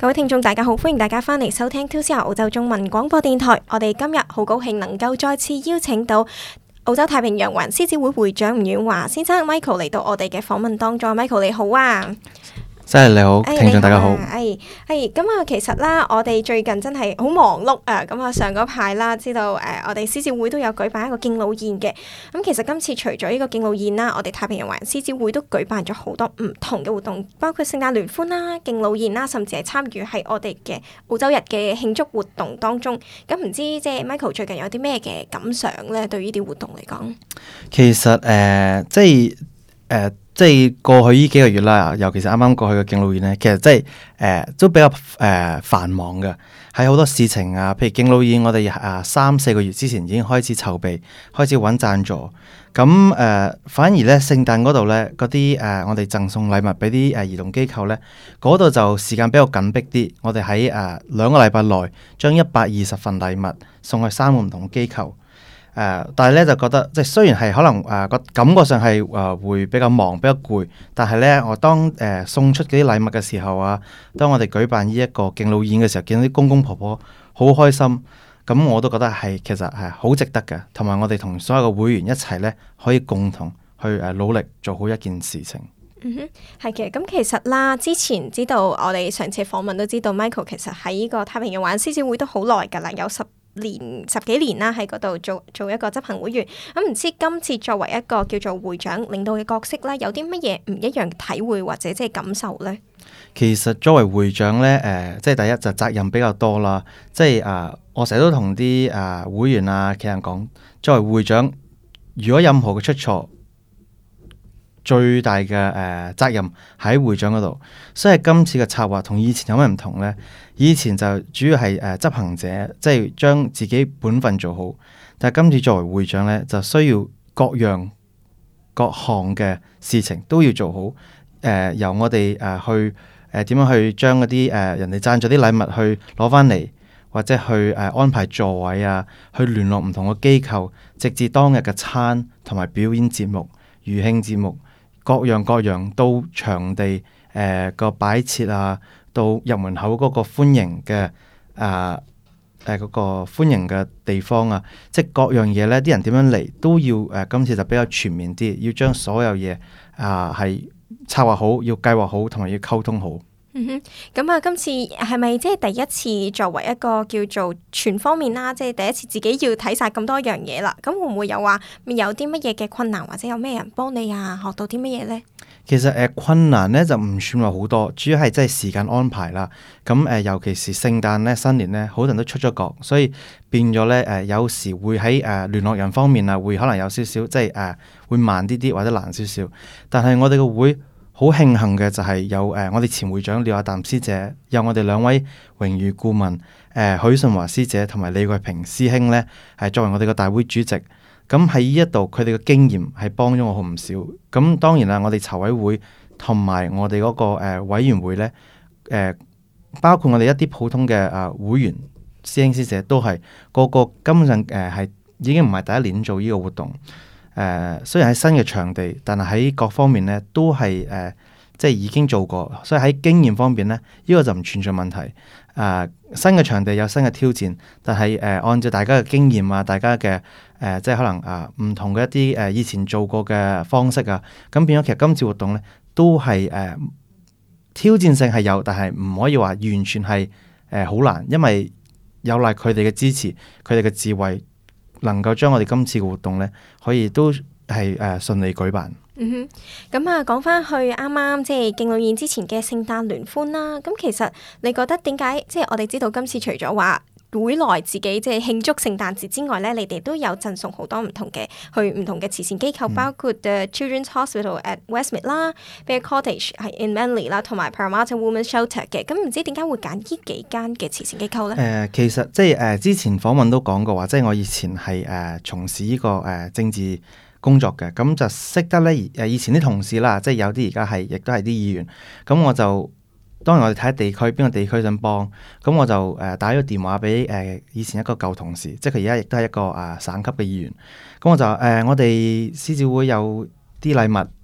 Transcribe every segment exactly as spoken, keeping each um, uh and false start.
各位聽眾大家好，歡迎大家翻嚟收聽two C R澳洲中文廣播電台。我哋今日好高興能夠再次邀請到澳洲太平洋環獅子會會長吳婉華先生 Michael 嚟到我哋嘅訪問當中。Michael 你好啊！ 真係你好，聽眾大家好。 係係咁啊，其實啦，我哋最近真係好忙碌啊。咁啊，上嗰排啦，知道誒、呃，我哋獅子會都有舉辦一個敬老宴嘅。咁其實今次除咗呢個敬老宴啦，我哋太平洋環獅子會都舉辦咗好多唔同嘅活動，包括聖誕聯歡啦、敬老宴啦，甚至係參與喺我哋嘅澳洲日嘅慶祝活動當中。咁唔知即係 Michael 最近有啲咩嘅感想咧？對於呢啲活動嚟講， 其實誒、呃，即係誒。呃即係過去呢幾個月啦，尤其是啱啱過去嘅敬老宴咧，其實即係誒都比較誒、呃、繁忙嘅，喺好多事情啊，譬如敬老宴，我哋啊三四個月之前已經開始籌備，開始揾贊助。咁誒、呃、反而咧聖誕嗰度咧，嗰啲誒我哋贈送禮物俾啲誒兒童機構咧，嗰度就時間比較緊迫啲。我哋喺誒兩個禮拜內將一百二十份禮物送去三個唔同機構。誒、呃，但係咧就覺得，即係雖然係可能誒個、呃、感覺上係誒、呃、會比較忙、比較攰，但係咧我當誒、呃、送出嗰啲禮物嘅時候啊，當我哋舉辦呢一個敬老宴嘅時候，見到啲公公婆婆好開心，咁我都覺得係其實係好值得嘅，同埋我哋同所有嘅會員一齊咧，可以共同去誒努力做好一件事情。 嗯哼，係嘅。咁其實啦，之前知道我哋上次訪問都知道 Michael 其實喺呢個太平洋環獅子會都好耐㗎啦，有十年十幾年啦，喺嗰度做做一個執行會員。咁唔知今次作為一個叫做會長領導嘅角色咧，有啲乜嘢唔一樣體會或者即係感受咧？ 其實作為會長咧，誒、呃，即係第一就責任比較多啦。即係啊、呃，我成日都同啲啊會員啊其他人講，作為會長，如果任何嘅出錯，最大嘅誒、呃、責任喺會長嗰度。所以今次嘅策劃同以前有咩唔同呢？以前就主要係誒、呃、執行者，即係將自己本分做好。但係今次作為會長呢，就需要各樣各項嘅事情都要做好。誒、呃、由我哋誒、呃、去誒點、呃、樣去將嗰啲誒人哋贊助啲禮物去攞翻嚟，或者去誒、呃、安排座位啊，去聯絡唔同嘅機構，直至當日嘅餐同埋表演節目、餘興節目。各樣各樣到場地誒個擺設啊，到入門口嗰個歡迎嘅啊誒嗰個歡迎嘅地方啊，即係各樣嘢咧，啲人點樣嚟都要誒、呃、今次就比較全面啲，要將所有嘢啊係策劃好，要計劃好，同埋要溝通好。 嗯哼，咁啊，今次係咪即係第一次作為一個叫做全方面啦，即係第一次自己要睇晒咁多樣嘢啦？咁會唔會有話有啲乜嘢嘅困難，或者有咩人幫你啊？學到啲乜嘢呢？ 其實誒、呃、困難咧就唔算話好多，主要係即係時間安排啦。咁誒、呃，尤其是聖誕咧、新年咧，好多人都出咗國，所以變咗咧誒，有時會喺誒、呃、聯絡人方面啊，會可能有少少即係誒、呃、會慢啲啲或者難少少。但係我哋個會好慶幸嘅就係有誒、呃、我哋前會長廖亞淡師姐，有我哋兩位榮譽顧問誒、呃、許順華師姐同埋李桂平師兄咧，係作為我哋個大會主席。咁喺呢一度佢哋嘅經驗係幫咗我好唔少。咁當然啦，我哋籌委會同埋我哋嗰、那個誒、呃、委員會咧，誒、呃、包括我哋一啲普通嘅誒、呃、會員師兄師姐都係個個根本上誒係、呃、已經唔係第一年做呢個活動。誒、呃、雖然喺新嘅場地，但係喺各方面咧都係誒、呃、即係已經做過，所以喺經驗方面咧，呢、這個就唔存在問題。誒、呃、新嘅場地有新嘅挑戰，但係誒、呃、按照大家嘅經驗啊，大家嘅誒、呃、即係可能啊唔、呃、同嘅一啲誒、呃、以前做過嘅方式啊，咁變咗其實今次活動咧都係誒、呃、挑戰性係有，但係唔可以話完全係誒好難，因為有賴佢哋嘅支持，佢哋嘅智慧。能夠將我哋今次嘅活動咧，可以都係誒順利舉辦。 嗯哼，咁啊，講翻去啱啱即係敬老宴之前嘅聖誕聯歡啦。咁其實你覺得點解？即係我哋知道今次除咗話會內自己即係慶祝聖誕節之外咧，你哋都有贈送好多唔同嘅去唔同嘅慈善機構，嗯、包括 The Children's Hospital at Westmead 啦 Bear Cottage 係 in Manly 啦，同埋 Parramatta Women's Shelter 嘅。咁唔知點解會揀呢幾間嘅慈善機構咧？誒、 呃，其實即係誒、呃、之前訪問都講過話，即係我以前係誒、呃、從事呢、這個誒、呃、政治工作嘅，咁就識得咧誒以前啲同事啦，即係有啲而家係亦都係啲議員，咁我就。當然我哋睇下地區邊個地區想幫，咁我就誒、呃、打咗個電話俾誒、呃、以前一個舊同事，即係佢而家亦都係一個啊、呃、省級嘅議員。咁我就誒、呃、我哋獅子會有啲禮物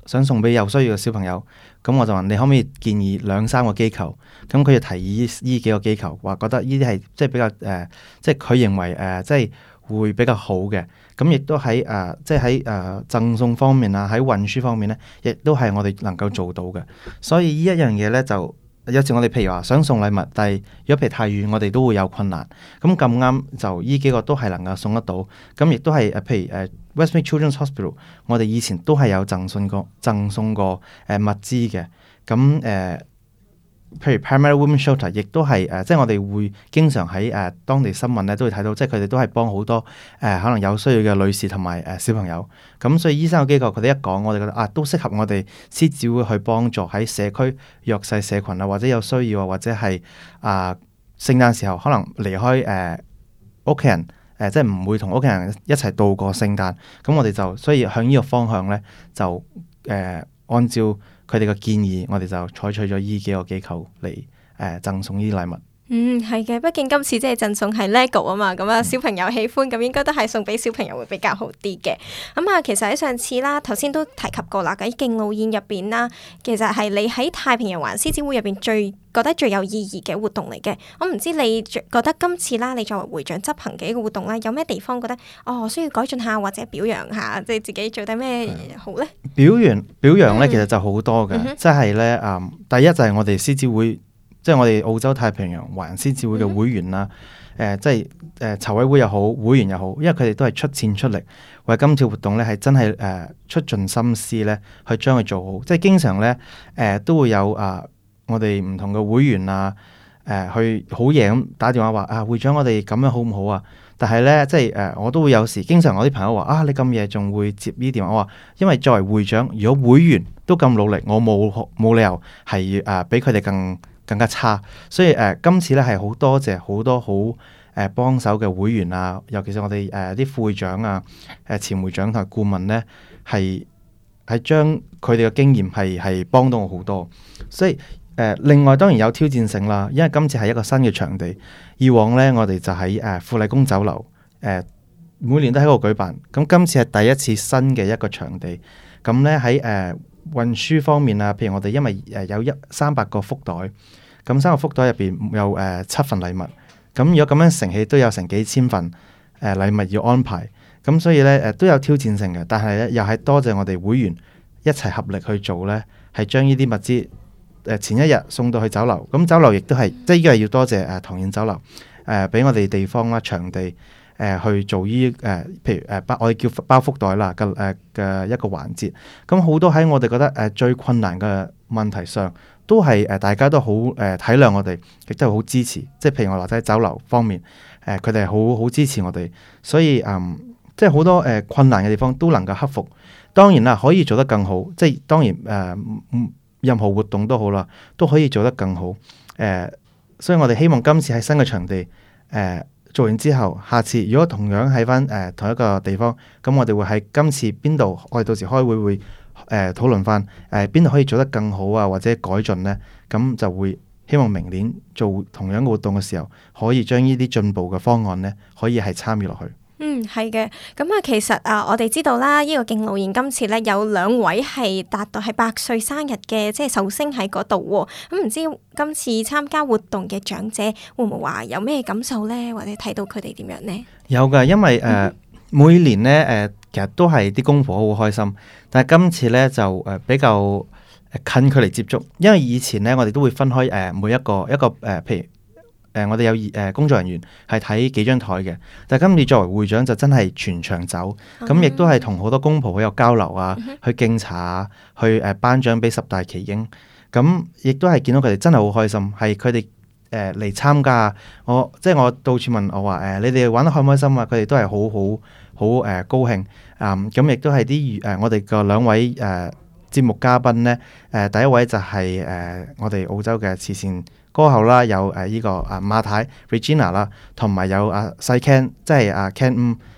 想送俾有需要嘅小朋友，咁我就話你可唔可以建議兩三個機構？咁佢就提議呢幾個機構，話覺得呢啲係即係比較誒、呃，即係佢認為誒、呃，即係會比較好嘅。咁亦都喺誒、呃，即係喺誒贈送方面啊，喺運輸方面咧，亦都係我哋能夠做到嘅。所以呢一樣嘢咧就。有時我哋譬如話想送禮物，但係如果譬如太遠，我哋都會有困難。咁咁啱就呢幾個都係能夠送得到。咁亦都係誒，譬如誒 Westmead Children's Hospital，我哋以前都係有贈送過贈送過誒物資嘅。咁誒。呃譬如 Parramatta Women's Shelter 亦都係誒、呃，即係我哋會經常喺誒、呃、當地新聞咧都會睇到，即係佢哋都係幫好多誒、呃、可能有需要嘅女士同埋誒小朋友。咁所以醫生嘅機構佢哋一講，我哋覺得啊都適合我哋獅子會去幫助喺社區弱勢社群啊，或者有需要啊，或者係啊聖誕時候可能離開誒屋企人誒、呃，即係唔會同屋企人一齊度過聖誕。咁我哋就所以向呢個方向咧就誒、呃、按照。佢哋嘅建議，我哋就採取咗呢幾個機構嚟誒贈送呢啲禮物。 嗯，係嘅，畢竟今次即係贈送係 LEGO 啊嘛，咁啊小朋友喜歡，咁應該都係送俾小朋友會比較好啲嘅。咁啊，其實喺上次啦，頭先都提及過啦，喺敬老宴入邊啦，其實係你喺太平洋環獅子會入邊最覺得最有意義嘅活動嚟嘅。我唔知你覺得今次啦，你作為會長執行嘅一個活動咧，有咩地方覺得哦需要改進下或者表揚下，即係自己做得咩好咧？ 表揚表揚咧，其實就好多嘅，即係咧誒，第一就係我哋獅子會。即係我哋澳洲太平洋華人獅子會嘅會員啦，誒、嗯呃，即係誒籌委會又好，會員又好，因為佢哋都係出錢出力，為今次活動咧係真係誒、呃、出盡心思咧去將佢做好。即係經常咧誒、呃、都會有啊、呃，我哋唔同嘅會員啊，誒、呃、去好夜咁打電話話啊，會長我哋咁樣好唔好啊？但係咧即係誒、呃、我都會有時，經常我啲朋友話啊，你咁夜仲會接呢啲電話？我話因為作為會長，如果會員都咁努力，我冇冇理由係誒比佢哋更。更加差，所以誒、呃、今次咧係好多謝好多好誒幫手嘅會員啊，尤其是我哋誒啲副會長啊、誒、呃、前會長同埋顧問咧，係係將佢哋嘅經驗係係幫到我好多。所以誒、呃、另外當然有挑戰性啦，因為今次係一個新嘅場地，以往咧我哋就喺誒、呃、富麗宮酒樓誒、呃、每年都喺度舉辦，咁今次係第一次新嘅一個場地，咁咧喺誒運輸方面啊，譬如我哋因為誒有一三百個福袋，咁三個福袋入邊有誒、呃、七份禮物，咁如果咁樣乘起都有成幾千份誒、呃、禮物要安排，咁所以咧誒、呃、都有挑戰性嘅，但係咧又係多謝我哋會員一齊合力去做咧，係將呢啲物資誒、呃、前一日送到去酒樓，咁酒樓亦都係即係呢個係要多謝誒唐燕酒樓誒俾我哋地方啦場地。誒、呃、去做呢誒、呃，譬如誒包、呃、我哋叫包福袋啦嘅誒嘅一個環節，咁好多喺我哋覺得誒、呃、最困難嘅問題上，都係誒、呃、大家都好誒、呃、體諒我哋，亦都係好支持。即係譬如我話齋酒樓方面，誒佢哋係好好支持我哋，所以嗯、呃，即係好多誒、呃、困難嘅地方都能夠克服。當然啦，可以做得更好。即係當然誒、呃，任何活動都好啦，都可以做得更好。誒、呃，所以我哋希望今次喺新嘅場地誒。呃做完之後，下次如果同樣喺翻誒同一個地方，咁我哋會喺今次邊度？我哋到時開會會誒、呃、討論翻誒邊度可以做得更好啊，或者改進呢？咁就會希望明年做同樣嘅活動嘅時候，可以將呢啲進步嘅方案呢，可以係參與落去。 嗯，係嘅。咁啊，其實啊，我哋知道啦，呢、這個敬老宴今次咧有兩位係達到係百歲生日嘅，即係壽星喺嗰度喎。咁、嗯、唔知今次參加活動嘅長者會唔會話有咩感受咧？或者睇到佢哋點樣呢？有噶，因為誒、呃嗯、每年咧誒、呃，其實都係啲公婆好開心，但係今次咧就誒比較近距離接觸，因為以前咧我哋都會分開誒、呃、每一個一個誒、呃，譬如。誒、呃，我哋有誒、呃、工作人員係睇幾張台嘅，但係今次作為會長就真係全場走，咁亦、嗯、都係同好多公婆好有交流啊，嗯、去敬茶啊，去誒頒獎俾十大奇英，咁亦都係見到佢哋真係好開心，係佢哋誒嚟參加，我即係我到處問我話誒、呃，你哋玩得開唔開心啊？佢哋都係好好好誒高興啊！咁、呃、亦都係啲誒我哋嘅兩位誒、呃、節目嘉賓咧，誒、呃、第一位就係、是、誒、呃、我哋澳洲嘅慈善歌后啦，有誒依、呃這個啊馬太 Regina 啦，同埋有啊細 Ken，即係啊 Ken 五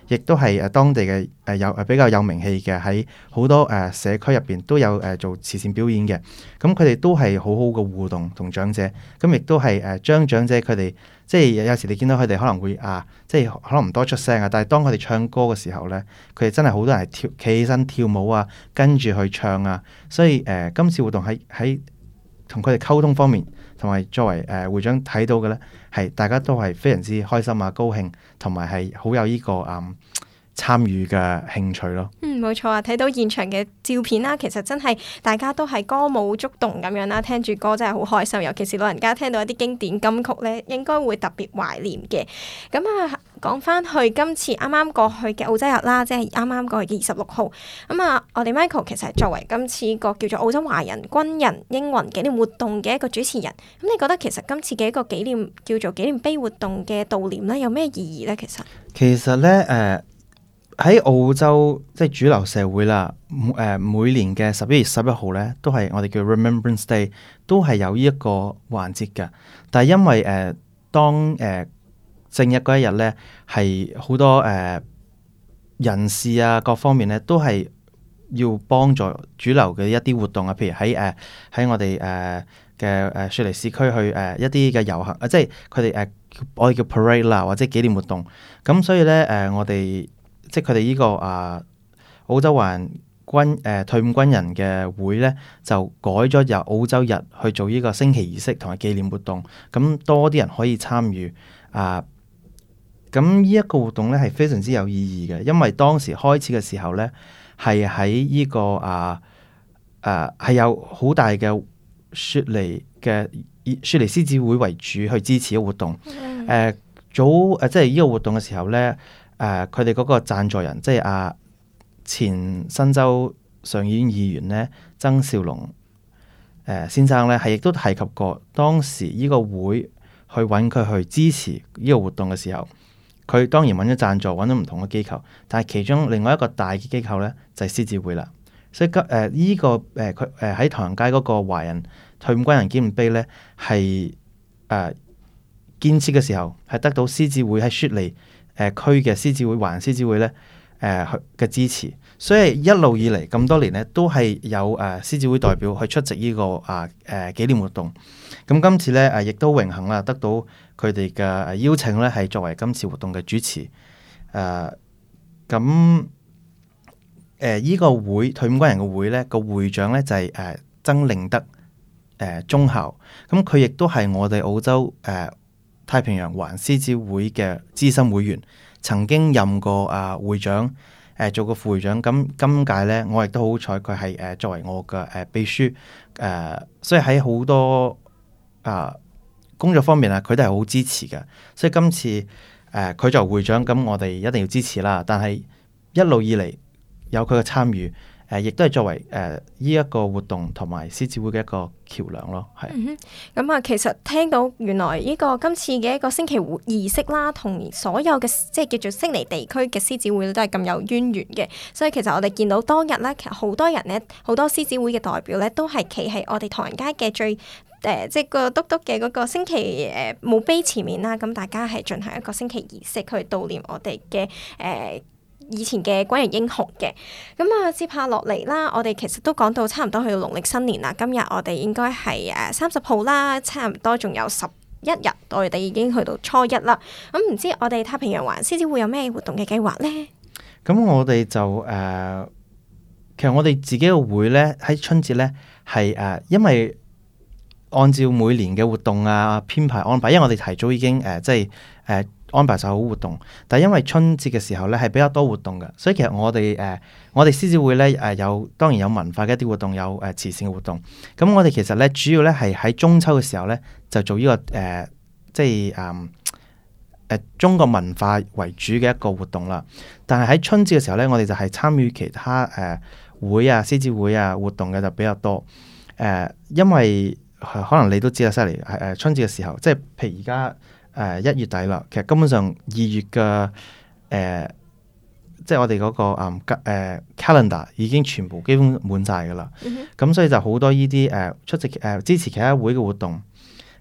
亦都係誒當地嘅誒、呃、有誒比較有名氣嘅，喺好多誒、呃、社區入邊都有誒、呃、做慈善表演嘅。咁佢哋都係好好嘅互動同長者，咁亦都係誒將長者佢哋即係有時你見到佢哋可能會啊，即係可能唔多出聲啊，但係當佢哋唱歌嘅時候咧，佢哋真係好多人係跳企起身跳舞啊，跟住去唱啊。所以誒、呃、今次活動喺喺同佢哋溝通方面，同埋作為誒、呃、會長睇到嘅咧，係大家都係非常之開心啊、高興，同埋係好有呢、這個誒、嗯、參與嘅興趣咯。 嗯，冇錯啊！睇到現場嘅照片啦，其實真係大家都係歌舞觸動咁樣啦，聽住歌真係好開心。尤其是老人家聽到一啲經典金曲咧，應該會特別懷念嘅。咁啊，講翻去今次啱啱過去嘅澳洲日啦，即係啱啱過去嘅二十六號。咁啊，我哋 Michael 其實係作為今次個叫做澳洲華人軍人英魂紀念活動嘅一個主持人。咁你覺得其實今次嘅一個紀念叫做紀念碑活動嘅悼念咧，有咩意義咧？其實其實咧，誒、呃。喺澳洲即係主流社會啦，誒、呃、每年嘅十一月十一號咧，都係我哋叫 Remembrance Day，都係有呢一個環節嘅。但係因為誒、呃、當誒、呃、正日嗰一日咧，係好多誒、呃、人士啊，各方面咧都係要幫助主流嘅一啲活動啊，譬如喺誒喺我哋誒嘅誒雪梨市區去誒、呃、一啲嘅遊行啊，即係佢哋誒我哋叫 parade 啦，或者紀念活動。咁所以咧誒、呃、我哋即係佢哋呢個啊澳洲華人軍誒、呃、退伍軍人嘅會咧，就改咗由澳洲日去做呢個升旗儀式同埋紀念活動，咁多啲人可以參與啊。咁呢一個活動咧係非常之有意義嘅，因為當時開始嘅時候咧係喺呢個啊誒係有好大嘅雪梨嘅雪梨獅子會為主去支持嘅活動。誒、 嗯呃、早誒、呃、即係呢個活動嘅時候咧。誒佢哋嗰個贊助人，即係阿、啊、前新州上議院議員咧，曾兆龍誒、呃、先生咧，係亦都提及過當時呢個會去揾佢去支持呢個活動嘅時候，佢當然揾咗贊助，揾咗唔同嘅機構，但係其中另外一個大嘅機構咧就係、是、獅子會啦。所以今誒依個誒佢誒喺唐人街嗰個華人退伍軍人紀念碑咧，係誒、呃、建設嘅時候係得到獅子會喺雪梨誒、呃、區嘅獅子會、華人獅子會咧誒嘅支持，所以一路以嚟咁多年咧，都係有誒、呃、獅子會代表去出席呢、這個啊誒、呃、紀念活動。咁今次咧誒亦都榮幸啦，得到佢哋嘅邀請咧，係作為今次活動嘅主持。誒咁誒依個會退伍軍人嘅會咧，個會長咧就係、是、誒、呃、曾令德誒、呃、中校。咁佢亦都係我哋澳洲誒。呃太平洋華人獅子會嘅資深會員，曾經任過啊會長，誒、呃、做過副會長。咁今屆咧，我亦都好彩，佢係誒作為我嘅誒、呃、秘書，誒、呃、所以喺好多啊、呃、工作方面啊，佢都係好支持嘅。所以今次誒佢、呃、作為會長，咁我哋一定要支持啦。但係一路以嚟有佢嘅參與。誒，亦都係作為誒呢一個活動同埋獅子會嘅一個橋梁咯，係。 咁啊、嗯，其實聽到原來呢個今次嘅一個升旗儀式啦，同所有嘅即係叫做悉尼地區嘅獅子會都係咁有淵源嘅。所以其實我哋見到當日咧，其實好多人咧，好多獅子會嘅代表咧，都係企喺我哋唐人街嘅最誒、呃，即係個篤篤嘅嗰個升旗誒墓碑前面啦。咁大家係進行一個升旗儀式去悼念我哋嘅誒。呃以前嘅軍人英雄嘅，咁啊接下落嚟啦，我哋其實都講到差唔多去到農曆新年啦。今日我哋應該係誒三十號啦，差唔多仲有十一日，我哋已經去到初一啦。咁、嗯、唔知我哋太平洋華人獅子會有咩活動嘅計劃呢？咁我哋就誒、呃，其實我哋自己嘅會咧喺春節咧係誒，因為按照每年嘅活動啊編排安排，因為我哋提早已經誒、呃、即係誒。呃安排晒好活動，但係因為春節嘅時候咧係比較多活動嘅，所以其實我哋誒、呃、我哋獅子會咧誒、呃、有當然有文化嘅一啲活動，有誒、呃、慈善嘅活動。咁我哋其實咧主要咧係喺中秋嘅時候咧就做呢、這個誒、呃、即係誒誒中國文化為主嘅一個活動啦。但係喺春節嘅時候咧，我哋就係參與其他誒、呃、會啊獅子會啊活動嘅就比較多。誒、呃，因為可能你都知啦，犀利係誒春節嘅時候，即係譬如而家。誒一、呃、月底啦，其實根本上二月嘅誒、呃，即係我哋嗰、那個誒、呃、calendar 已經全部基本滿晒㗎啦。咁、嗯、哼所以就好多呢啲誒出席誒、呃、支持其他會嘅活動。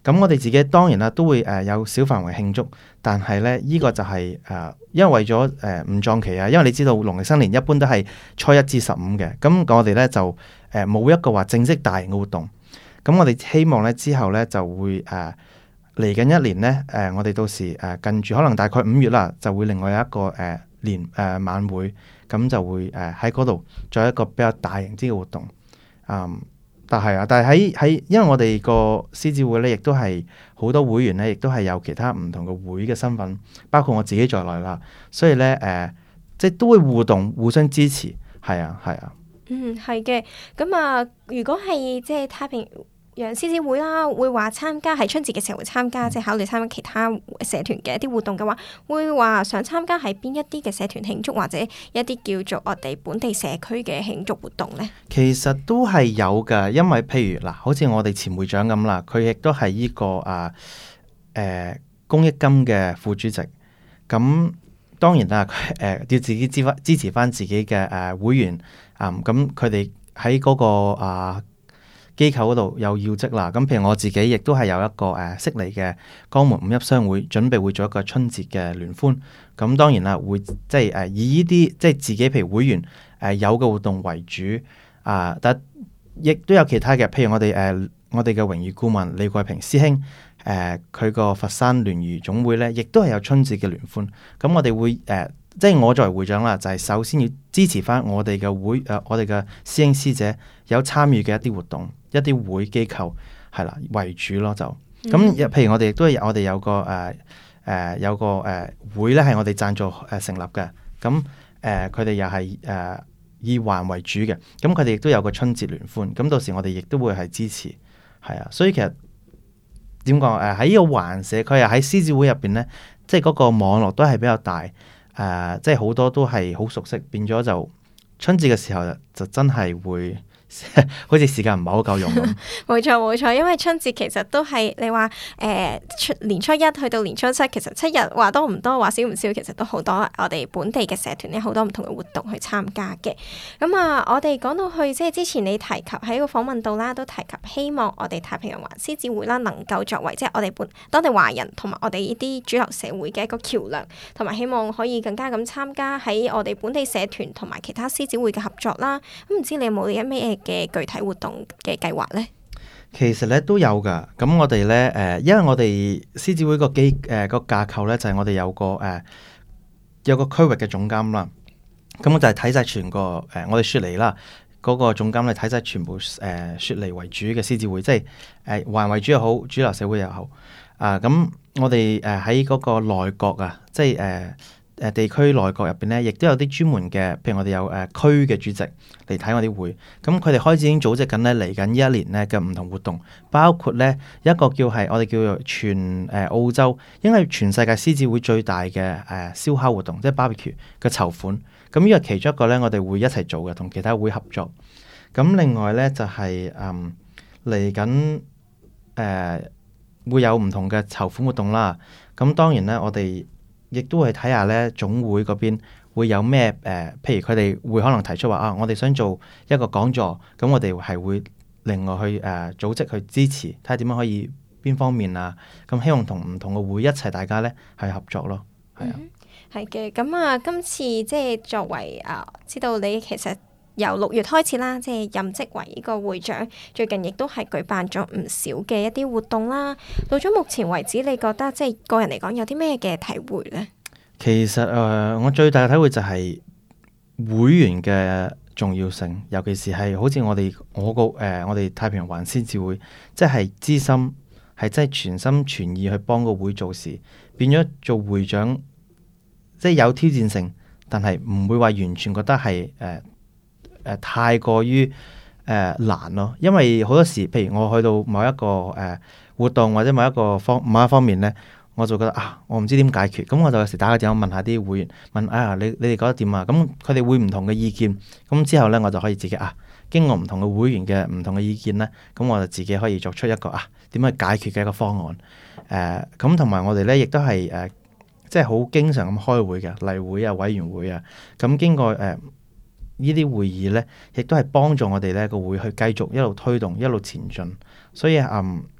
咁我哋自己當然啦，都會誒、呃、有小範圍慶祝，但係咧呢、這個就係、是、誒、呃，因為為咗誒唔撞期啊，因為你知道農曆新年一般都係初一至十五嘅，咁我哋咧就誒冇、呃、一個話正式大型嘅活動。咁我哋希望咧之後咧就會誒嚟緊一年咧誒、呃，我哋到時誒、呃、近住可能大概五月啦，就會另外有一個誒、呃、年誒、呃、晚會，咁就會誒喺嗰度做一個比較大型啲嘅活動，嗯。但係啊，但係喺喺，因為我哋個獅子會咧，亦都係好多會員咧，亦都係有其他唔同嘅會嘅身份，包括我自己在內啦。所以咧，誒、呃，即係都會互動、互相支持，係啊，係啊。 嗯，係嘅。咁啊，如果係即係太平洋獅子會啦，會話參加喺春節嘅時候會參加，即係考慮參加其他社團嘅一啲活動嘅話，會話想參加喺邊一啲嘅社團慶祝，或者一啲叫做我哋本地社區嘅慶祝活動呢？ 其實都係有噶，因為譬如嗱，好似我哋前會長咁啦，佢亦都係呢個啊誒、呃、公益金嘅副主席。咁當然啦，誒、呃、要自己支翻支持翻自己嘅誒、呃、會員啊，咁佢哋喺嗰個啊。機構嗰度有要職啦，咁譬如我自己亦都係有一個誒悉尼嘅江門五邑商會，準備會做一個春節嘅聯歡。咁當然啦，會即係誒以呢啲即係自己譬如會員誒、呃、有嘅活動為主啊、呃，但亦都有其他嘅，譬如我哋誒、呃、我哋嘅榮譽顧問李桂平師兄誒佢個佛山聯誼總會咧，亦都係有春節嘅聯歡。咁我哋會誒、呃、即係我作為會長啦，就係、是、首先要支持翻我哋嘅會誒、呃、我哋嘅師兄師姐有參與嘅一啲活動。一啲會機構係啦為主咯，就咁、嗯、譬如我哋亦都係我哋有個誒誒、呃、有個誒、呃、會咧，係我哋贊助誒、呃、成立嘅。咁誒佢哋又係誒以環為主嘅。咁佢哋亦都有個春節聯歡。咁到時我哋亦都會係支持係啊。所以其實點講誒喺呢個環社區啊，喺獅子會入邊咧，即係嗰個網絡都係比較大誒、呃，即係好多都係好熟悉，變咗就春節嘅時候就真係會。好似時間唔係好夠用咁。 冇錯冇錯，因為春節其實都係你話誒、呃、年初一去到年初七，其實七日話多唔多話少唔少，其實都好多我哋本地嘅社團咧，好多唔同嘅活動去參加嘅。咁啊，我哋講到去即係之前你提及喺個訪問度啦，都提及希望我哋太平洋環獅子會啦，能夠作為即係我哋本當地華人同埋我哋呢啲主流社會嘅一個橋樑，同埋希望可以更加咁參加喺我哋本地社團同埋其他獅子會嘅合作啦。咁唔知你有冇啲咩嘅具體活動嘅計劃呢？ 其實咧都有噶，咁我哋咧誒，因為我哋獅子會個機誒個架構咧，就係、是、我哋有個誒、呃、有個區域嘅總監啦。咁我就係睇晒全個誒、呃，我哋雪梨啦嗰、那個總監咧睇晒全部誒、呃、雪梨為主嘅獅子會，即係誒華人為主又好，主流社會又好啊。咁我哋誒喺嗰個內閣啊，即係誒。呃誒地區內閣入邊咧，亦都有啲專門嘅，譬如我哋有誒、呃、區嘅主席嚟睇我啲會，咁佢哋開始已經組織緊咧嚟緊呢一年咧嘅唔同活動，包括咧一個叫係我哋叫做全誒、呃、澳洲，應該係全世界獅子會最大嘅誒、呃、燒烤活動，即係 barbecue 嘅籌款。咁呢個其中一個咧，我哋會一齊做嘅，同其他會合作。咁另外咧就係誒嚟緊誒會有唔同嘅籌款活動啦。咁當然咧，我哋亦都會睇下咧，總會嗰邊會有咩誒、呃，譬如佢哋會可能提出話啊，我哋想做一個講座，咁我哋係會另外去誒、呃、組織去支持，睇下點樣可以邊方面啊，咁希望同唔同嘅會一齊大家咧係合作咯，係啊， 係嘅、嗯。咁啊，今次即係作為啊，知道你其實由六月開始啦，即係任職為呢個會長，最近亦都係舉辦咗唔少嘅一啲活動啦。到咗目前為止，你覺得即係個人嚟講有啲咩嘅體會呢？ 其實誒、呃，我最大嘅體會就係會員嘅重要性，尤其是係好似我哋我個誒、呃，我哋太平洋環獅子會，即係知心，係真係全心全意去幫個會做事，變咗做會長，即係有挑戰性，但係唔會話完全覺得係誒。呃誒、呃、太過於誒、呃、難咯，因為好多時，譬如我去到某一個誒、呃、活動或者某一個方某一方面咧，我就覺得啊，我唔知點解決，咁我就有時打個電話問下啲會員，問啊，你你哋覺得點啊？咁佢哋會唔同嘅意見，咁之後咧我就可以自己啊，經過唔同嘅會員嘅唔同嘅意見咧，咁我就自己可以作出一個啊點樣解決嘅一個方案。誒咁同埋我哋咧亦都係誒即係好經常咁開會嘅例會啊、委員會啊，咁經過誒。呃呢啲會議咧，亦都係幫助我哋咧個會去繼續一路推動、一路前進。所以嗯，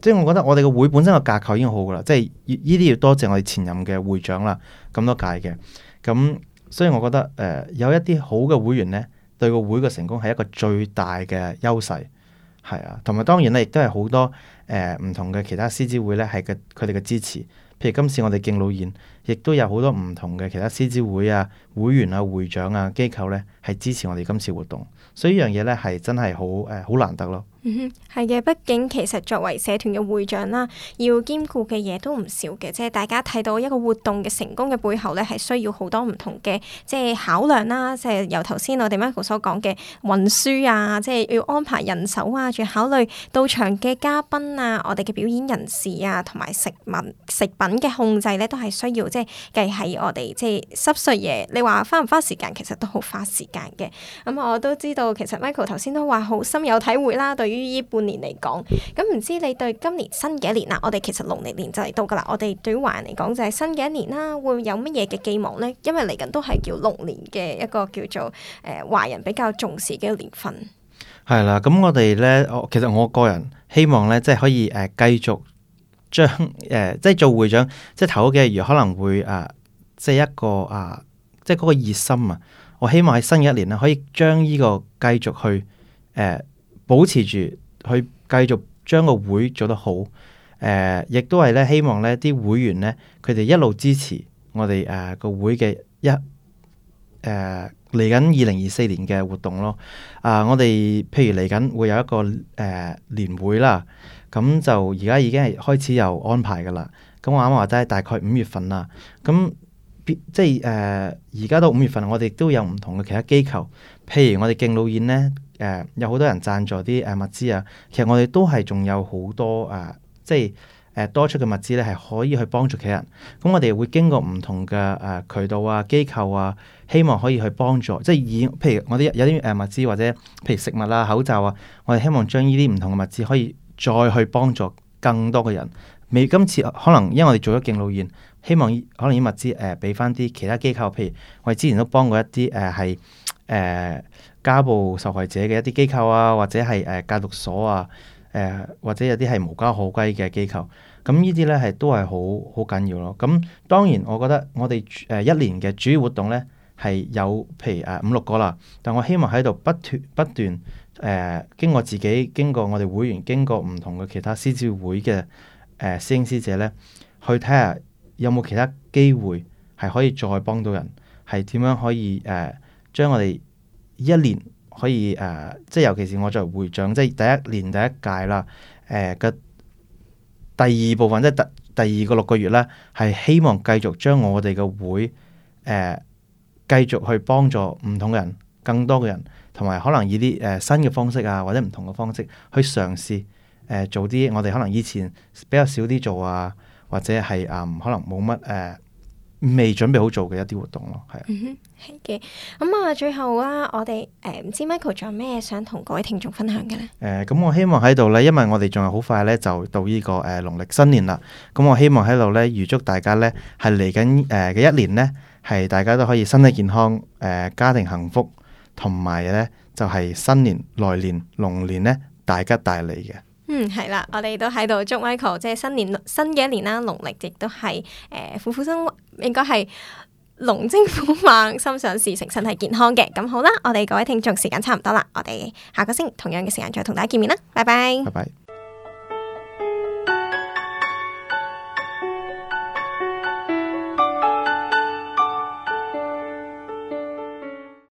即係我覺得我哋個會本身個架構已經好噶啦，即係呢啲要多謝我哋前任嘅會長啦，咁多屆嘅，咁所以我覺得誒、呃、有一啲好嘅會員呢，對個會嘅成功係一個最大嘅優勢，係啊，同埋當然咧亦都係好多誒唔、呃、同嘅其他獅子會呢，係嘅佢哋嘅支持，譬如今次我哋敬老宴，亦都有好多唔同嘅其他獅子會啊會員啊會長啊機構呢，係支持我哋今次活動，所以呢樣嘢呢，係真係好誒好難得咯。 嗯哼，係嘅，畢竟其實作為社團嘅會長啦，要兼顧嘅嘢都唔少嘅，即係大家睇到一個活動嘅成功嘅背後咧，係需要好多唔同嘅即係考量啦，即係由頭先我哋 Michael 所講嘅運輸啊，即係要安排人手啊，仲要考慮到場嘅嘉賓啊，我哋嘅表演人士啊，同埋食物食品嘅控制咧，都係需要即係計喺我哋即係濕碎嘢。你話花唔花時間，其實都好花時間嘅。咁、嗯、我都知道，其實 Michael 頭先都話好深有體會啦，對於呢半年嚟講，咁唔知你對今年新嘅一年啦，我哋其實農曆年就嚟到噶啦，我哋對於華人嚟講就係新嘅一年啦，會有乜嘢嘅寄望呢？因為嚟緊都係叫龍年嘅一個叫做誒華人比較重視嘅一個年份。 係啦，咁我哋咧，我其實我個人希望咧，即係可以誒繼續將誒即係做會長，即係頭嗰幾個月可能會誒即係一個啊，即係嗰個熱心啊，我希望喺新嘅一年咧，可以將呢個繼續去誒保持住。去繼續將個會做得好，誒、呃，亦都係咧希望咧啲會員咧，佢哋一路支持我哋誒個會嘅一誒嚟緊二零二四年嘅活動咯。啊、呃，我哋譬如嚟緊會有一個誒、呃、年會啦，咁就而家已經係開始有安排噶啦。咁我啱啱話齋大概五月份啦，咁即係誒而家到五月份，我哋都有唔同嘅其他機構，譬如我哋敬老宴咧。誒、呃、有好多人贊助啲誒物資啊，其實我哋都係仲有好多誒、呃，即係誒、呃、多出嘅物資咧，係可以去幫助其他人。咁我哋會經過唔同嘅誒、呃、渠道啊、機構啊，希望可以去幫助，即係以譬如我哋有啲誒物資或者譬如食物啊、口罩啊，我哋希望將呢啲唔同嘅物資可以再去幫助更多嘅人。未今次可能因為我哋做咗敬老宴，希望可能啲物資誒俾翻啲其他機構，譬如我哋之前都幫過一啲誒係誒家暴受害者嘅一啲機構啊，或者係誒戒毒所啊，誒、呃、或者有啲係無家可歸嘅機構，咁呢啲咧係都係好好緊要咯。咁當然我覺得我哋誒一年嘅主要活動咧係有譬如誒五六個啦，但我希望喺度不斷不斷誒、呃、經過自己，經過我哋會員，經過唔同嘅其他獅子會嘅誒、呃、師兄師姐咧，去睇下有冇其他機會係可以再幫到人，係點樣可以誒、呃、將我哋一年可以誒、呃，即係尤其是我作為會長，即係第一年第一屆啦，誒、呃、嘅第二部分，即係第第二個六個月咧，係希望繼續將我哋嘅會誒、呃、繼續去幫助唔同嘅人，更多嘅人，同埋可能以啲誒、呃、新嘅方式啊，或者唔同嘅方式去嘗試誒、呃、做啲我哋可能以前比較少啲做啊，或者係誒、呃、可能冇乜誒。呃未準備好做嘅一啲活動咯，係啊， 嗯哼，係嘅。咁啊，最後啦，我哋誒唔知 Michael 仲有咩想同各位聽眾分享嘅咧？誒、 呃，咁我希望喺度咧，因為我哋仲係好快咧，就到呢、這個誒、呃、農曆新年啦。咁我希望喺度咧，預祝大家咧係嚟緊誒嘅一年咧，係大家都可以身體健康，誒、呃、家庭幸福，同埋咧就係、是、新年來年龍年咧大吉大利嘅。 嗯，係啦，我哋都喺度祝 Michael 即係新年新嘅一年啦，農曆亦都係誒虎虎生，應該係龍精虎猛，心想事成，身體健康嘅。咁好啦，我哋各位聽眾時間差唔多啦，我哋下個星期同樣嘅時間再同大家見面啦，拜拜。 拜拜。